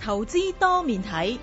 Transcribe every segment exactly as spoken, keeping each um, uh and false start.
投資多面睇。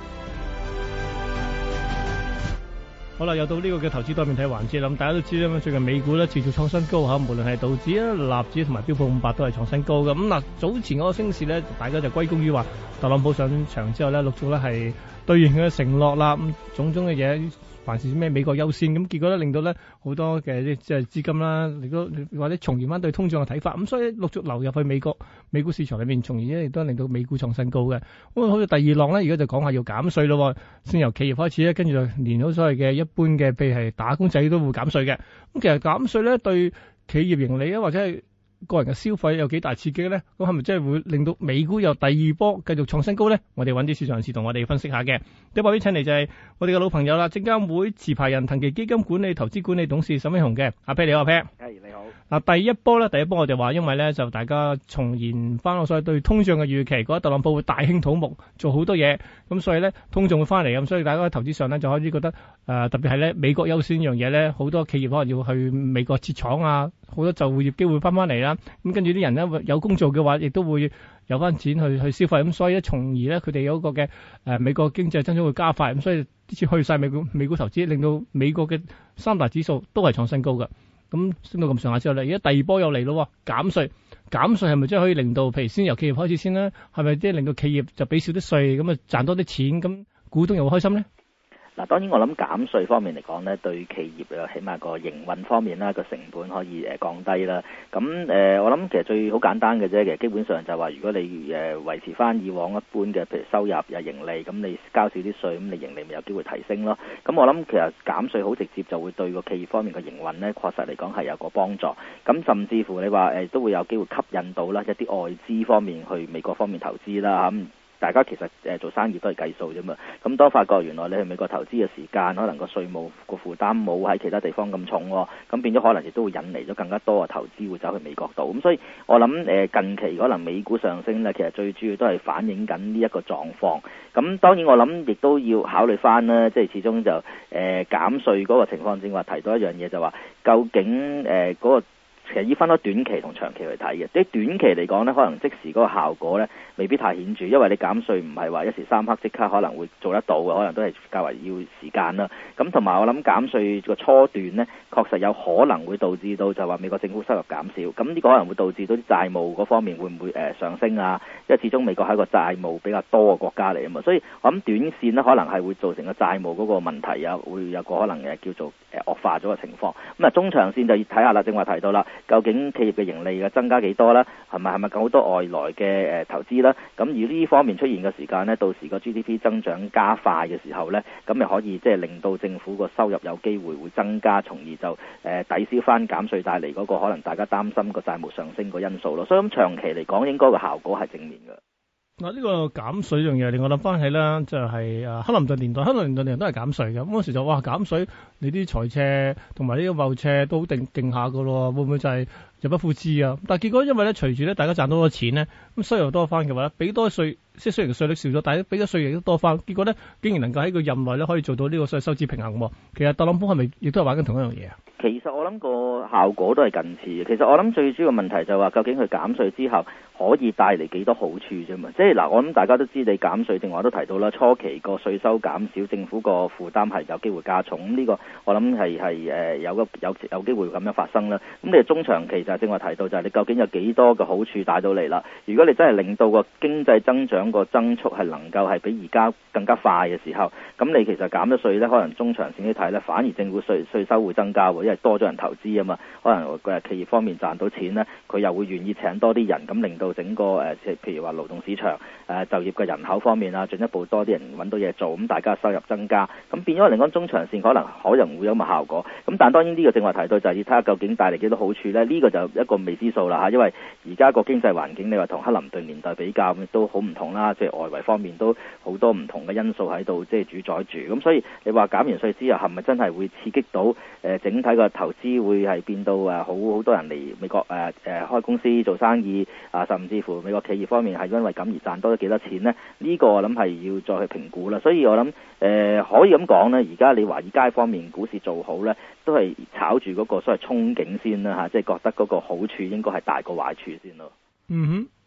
好啦，又到呢個嘅投資多面睇環節啦。咁大家都知啦，最近美股咧持續創新高嚇，無論係道指啊、納指同埋標普五百都係創新高嘅。咁嗱，早前嗰個升市咧，大家就歸功於話特朗普上場之後咧，陸續咧係兌現佢嘅承諾啦，咁種種嘅嘢，凡事咩美國優先，咁結果咧令到咧好多嘅即係資金啦，亦都或者重現翻對通脹嘅睇法，咁所以陸續流入去美國美股市場裏面，從而咧亦都令到美股創新高嘅。咁好似第二浪咧，而家就講下要減稅咯，先由企業開始咧，跟住就連到所謂嘅一般嘅，譬如係打工仔都會減稅嘅。咁其實減稅咧對企業盈利啊，或者係個人嘅消費有幾大刺激咧？咁係咪真係會令到美股有第二波繼續創新高咧？我哋揾啲市場人士同我哋分析下嘅。第一位請嚟就係我哋嘅老朋友啦，證監會持牌人騰祺基金管理投資管理董事沈慶洪嘅。阿 Pat 你好，阿 Pat。 係你好。 嗱，第一波咧，第一波我哋話，因為咧就大家重現翻我所謂對通脹嘅預期，覺得特朗普會大興土木，做好多嘢，咁所以咧通脹會翻嚟，咁所以大家喺投資上咧就開始覺得誒、呃，特別係咧美國優先呢樣嘢咧，好多企業可能要去美國設廠啊，好多就業機會翻翻嚟啦。咁跟住啲人咧有工做嘅話，亦都會有翻錢去去消費，咁所以咧從而咧佢哋有一個嘅誒、呃、美國經濟增長會加快，咁所以啲錢去晒美股美股投資，令到美國嘅三大指數都係創新高嘅。咁升到咁上下之後咧，而家第二波又嚟咯，減稅，減稅係咪真係可以令到，譬如先由企業開始先咧，係咪即係令到企業就俾少啲稅，咁啊賺多啲錢，咁股東又會開心咧？ 嗱，當然我諗減稅方面嚟講咧，對企業啊，起碼個營運方面啦，個成本可以誒降低啦。咁誒、呃，我諗其實最好簡單嘅啫，其實基本上就係話，如果你誒維持翻以往一般嘅，譬如收入又盈利，咁你交少啲稅，咁你盈利咪有機會提升咯。咁我諗其實減稅好直接就會對個企業方面嘅營運咧，確實嚟講係有個幫助。咁甚至乎你話誒都會有機會吸引到啦一啲外資方面去美國方面投資啦嚇。大家其實誒做生意都係計數啫嘛，咁當發覺原來你去美國投資嘅時間，可能個稅務個負擔冇喺其他地方咁重喎，咁變咗可能亦都會引嚟咗更加多嘅投資會走去美國度，咁所以我諗誒近期可能美股上升咧，其實最主要都係反映緊呢一個狀況。咁當然我諗亦都要考慮翻啦，即係始終就誒、呃、減稅嗰個情況正話提到一樣嘢就話，究竟誒嗰、呃嗰個其實要分開短期同長期去睇嘅，即係短期嚟講呢，可能即時嗰個效果呢未必太顯著，因為你減稅唔係話一時三刻即刻可能會做得到嘅，可能都係較為要時間啦。咁同埋我諗減稅個初段呢，確實有可能會導致到就話美國政府收入減少，咁呢個可能會導致到啲債務嗰方面會唔會誒、呃、上升啊？因為始終美國係一個債務比較多嘅國家嚟啊嘛，所以我諗短線呢可能係會造成個債務嗰個問題啊，會有個可能誒叫做誒惡化咗嘅情況。咁啊中長線就要睇下啦，正話提到啦。究竟企業嘅盈利嘅增加幾多啦？係咪係咪好多外來嘅誒投資啦？咁而呢方面出現嘅時間呢，到時個 G D P 增長加快嘅時候呢，咁咪可以即係令到政府個收入有機會會增加，從而就誒、呃、抵消翻減稅帶嚟嗰個可能大家擔心個債務上升個因素咯。所以咁長期嚟講，應該個效果係正面嘅。 嗱，呢個減稅樣嘢令我諗翻起啦，就係誒克林頓年代，克林頓年代都係減稅嘅。咁嗰時就哇減稅，你啲財赤同埋呢個貿赤都好定勁下噶咯，會唔會就係入不敷支啊？但係結果因為咧，隨住咧大家賺到咗錢咧，咁收入多翻嘅話咧，俾多稅，即係雖然稅率少咗，但係俾咗稅亦都多翻。結果咧，竟然能夠喺個任內咧可以做到呢個所謂收支平衡。其實特朗普係咪亦都係玩緊同一樣嘢啊？ 其實我諗個效果都係近似嘅。其實我諗最主要問題就係話，究竟佢減稅之後可以帶嚟幾多好處啫嘛？即係嗱，我諗大家都知你減稅，正話都提到啦，初期個稅收減少，政府個負擔係有機會加重。咁呢個我諗係係誒有個有有機會咁樣發生啦。咁你中長期就係正話提到就係你究竟有幾多嘅好處帶到嚟啦？如果你真係令到個經濟增長個增速係能夠係比而家更加快嘅時候，咁你其實減咗稅咧，可能中長線去睇咧，反而政府稅稅收會增加喎，因為多咗人投資啊嘛。可能誒企業方面賺到錢咧，佢又會願意請多啲人，咁令到整個誒譬如話勞動市場誒就業嘅人口方面啊，進一步多啲人揾到嘢做，咁大家收入增加，咁變咗嚟講中長線可能可能會有咁嘅效果。咁但係當然呢個正話提到就係要睇下究竟帶嚟幾多好處咧，呢個就一個未知數啦嚇，因為而家個經濟環境你話同克林頓年代比較都好唔同啦，即係外圍方面都好多唔同嘅因素喺度即係主宰住，咁所以你話減完稅之後係咪真係會刺激到誒整體個投資會係變到誒好好多人嚟美國誒誒開公司做生意啊，甚至乎美國企業方面係因為咁而賺多咗幾多錢呢？呢個我諗係要再去評估啦。所以我諗誒、呃、可以咁講呢，而家你華爾街方面股市做好呢，都係炒住嗰個所謂憧憬先啦嚇，即係覺得嗰個好處應該係大過壞處先咯。 嗯哼。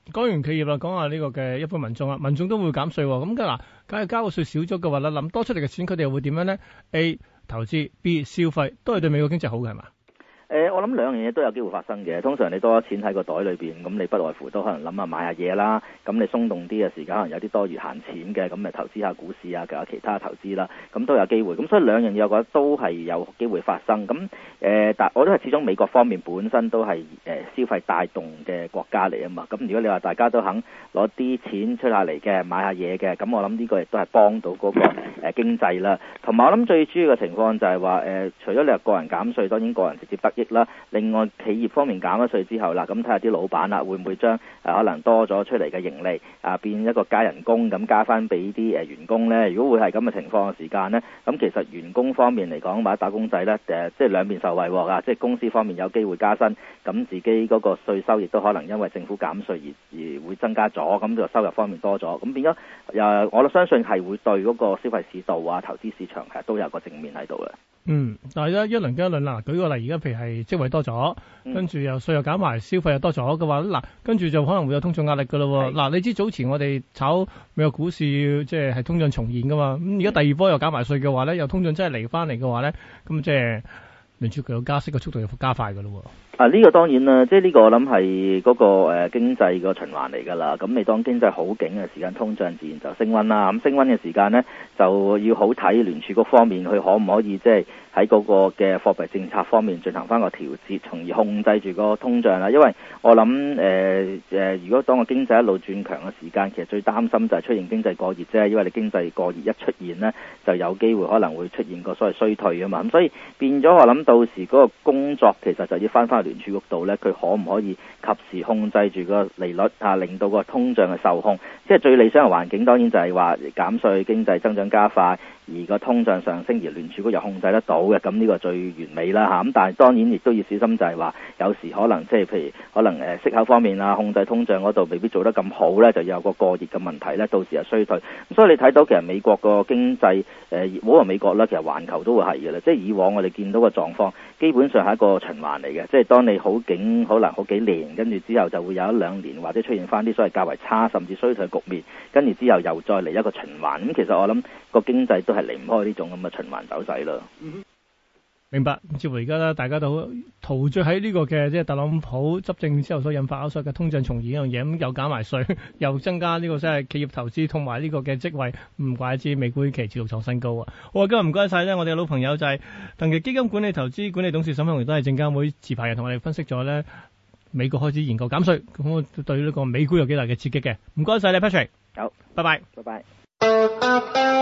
講完企業啦，講下呢個嘅一般民眾啊，民眾都會減稅喎。咁嗱，梗係交個稅少咗嘅話啦，諗多出嚟嘅錢佢哋又會點樣咧 ？A 投資 ，B 消費，都係對美國經濟好嘅係嘛？ 誒、呃，我諗兩樣嘢都有機會發生嘅。通常你多咗錢喺個袋裏邊，咁你不外乎都可能諗下買下嘢啦。咁你鬆動啲嘅時間，可能有啲多餘閒錢嘅，咁咪投資下股市啊，其他投資啦，咁都有機會。咁所以兩樣嘢我覺得都係有機會發生。咁誒、呃，但我都係始終美國方面本身都係誒、呃、消費帶動嘅國家嚟啊嘛。咁如果你話大家都肯攞啲錢出下嚟嘅，買下嘢嘅，咁我諗呢個亦都係幫到嗰、那個誒、呃、經濟啦。同埋我諗最主要嘅情況就係話誒，除咗你話個人減稅，當然個人直接得益啦。另外企業方面減咗稅之後啦，咁睇下啲老闆啦，會唔會將誒、呃、可能多咗出嚟嘅盈利啊、呃、變一個加人工咁加翻俾啲誒員工咧？如果會係咁嘅情況嘅時間咧，咁其實員工方面嚟講或者打工仔咧誒、呃，即係兩邊受惠喎啊！即係公司方面有機會加薪，咁自己嗰個稅收亦都可能因為政府減稅而而會增加咗，咁就收入方面多咗，咁變咗誒、呃，我相信係會對嗰個消費市道啊、投資市場係都有個正面喺度嘅。 嗯，但係一輪跟一輪啦，舉個例，而家譬如係職位多咗，跟住又稅又減埋，消費又多咗嘅話，嗱，跟住就可能會有通脹壓力噶咯。嗱，你知早前我哋炒美國股市，即係係通脹重現噶嘛，咁而家第二波又減埋稅嘅話咧，又通脹真係嚟翻嚟嘅話咧，咁即係聯儲局有加息嘅速度又加快噶咯。 啊！呢、這個當然啦，即係呢個我諗係嗰個誒、呃、經濟個循環嚟㗎啦。咁你當經濟好景嘅時間，通脹自然就升溫啦。咁升溫嘅時間呢，就要好睇聯儲局方面佢可唔可以即係喺嗰個嘅貨幣政策方面進行翻個調節，從而控制住個通脹啦。因為我諗誒誒，如果當個經濟一路轉強嘅時間，其實最擔心就係出現經濟過熱啫。因為你經濟過熱一出現呢，就有機會可能會出現個所謂衰退啊嘛。咁所以變咗我諗到時嗰個工作其實就要翻翻聯儲局度咧，佢可唔可以及時控制住個利率啊，令到個通脹嘅受控？即係最理想嘅環境，當然就係話減稅、經濟增長加快，而個通脹上升，而聯儲局又控制得到嘅，咁呢個最完美啦嚇。咁但係當然亦都要小心，就係話有時可能即係譬如可能誒息口方面啊，控制通脹嗰度未必做得咁好咧，就有個過熱嘅問題咧，到時又衰退。咁所以你睇到其實美國個經濟誒，唔好話美國啦，其實環球都會係嘅啦。即係以往我哋見到個狀況，基本上係一個循環嚟嘅。即係當你好景可能好幾年，跟住之後就會有一兩年或者出現翻啲所謂較為差甚至衰退局面，跟住之後又再嚟一個循環。咁其實我諗個經濟都係離唔開呢種咁嘅循環走勢咯。 嗯，明白。似乎而家咧，大家都陶醉喺呢個嘅即係特朗普執政之後所引發所謂嘅通脹重現呢樣嘢，咁又減埋稅，又增加呢個即係企業投資同埋呢個嘅職位，唔怪之美股期持續創新高啊！好啊，今日唔該晒咧，我哋嘅老朋友就係騰祺基金管理投資管理董事沈慶洪，亦都係證監會持牌人，同我哋分析咗咧美國開始研究減稅，咁對呢個美股有幾大嘅刺激嘅。唔該晒你 Patrick， 好， 拜拜， 拜拜。